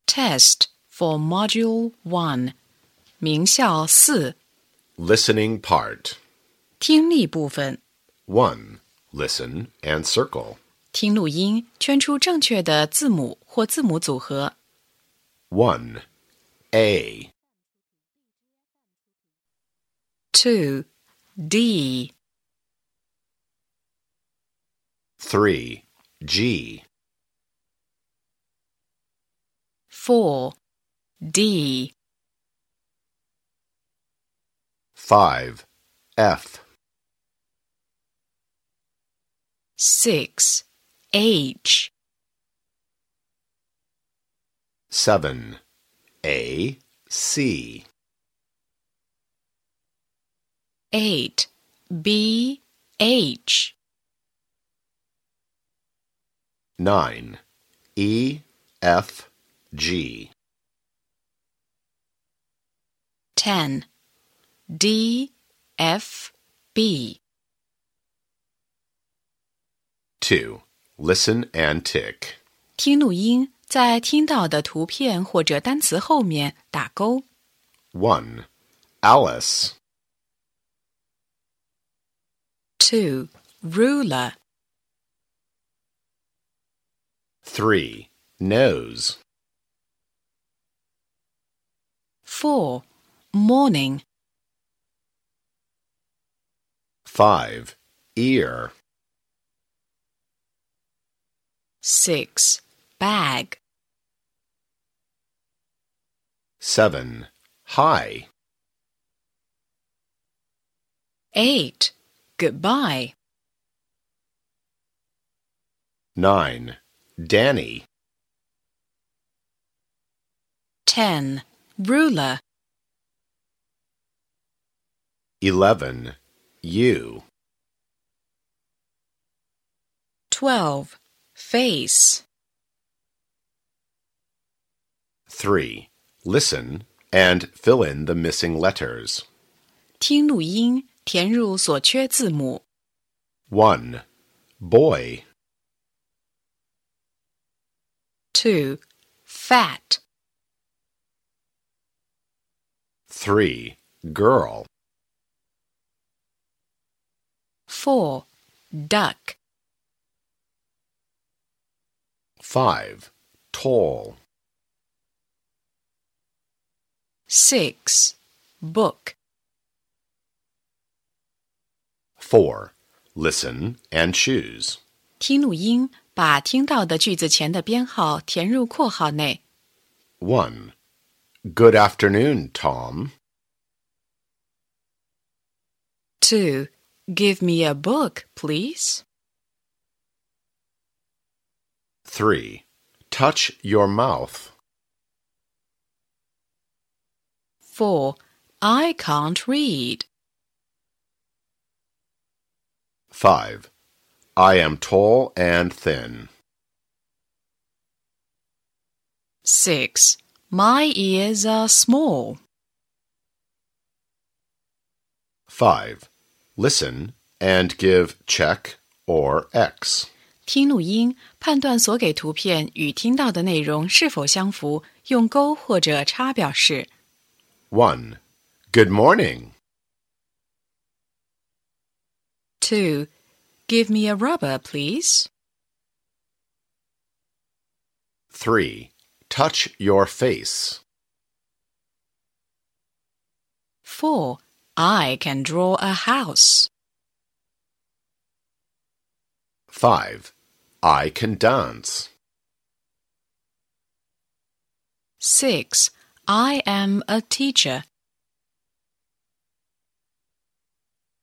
Test for Module 1. 名校4 Listening part. 听力部分 1. Listen and circle. 听录音，圈出正确的字母或字母组合。 1. A. 2. D. 3. G. 4. D. 5. F. 6. H. 7. A. C. 8. B. H. 9. E. F. G. 10. D. F. B. 2. Listen and tick. 听录音，在听到的图片或者单词后面打勾。 1. Alice. 2. Ruler. 3. Nose. 4. Morning. 5. Ear. 6. Bag. 7. High. 8. Goodbye. 9. Danny. 10. Ruler. 11. You. 12. Face. 3. Listen and fill in the missing letters. 听录音，填入所缺字母。 1. Boy. 2. Fat. 3. Girl. 4. Duck. 5. Tall. 6. Book. 4. Listen and choose. 听录音，把听到的句子前的编号填入括号内。 1. Good afternoon, Tom. 2. Give me a book, please. 3. Touch your mouth. 4. I can't read. 5. I am tall and thin. 6. My ears are small. 5. Listen and give check or X. 听录音，判断所给图片与听到的内容是否相符，用勾或者叉表示。 1. Good morning. 2. Give me a rubber, please. 3. Touch your face. 4. I can draw a house. 5. I can dance. 6. I am a teacher.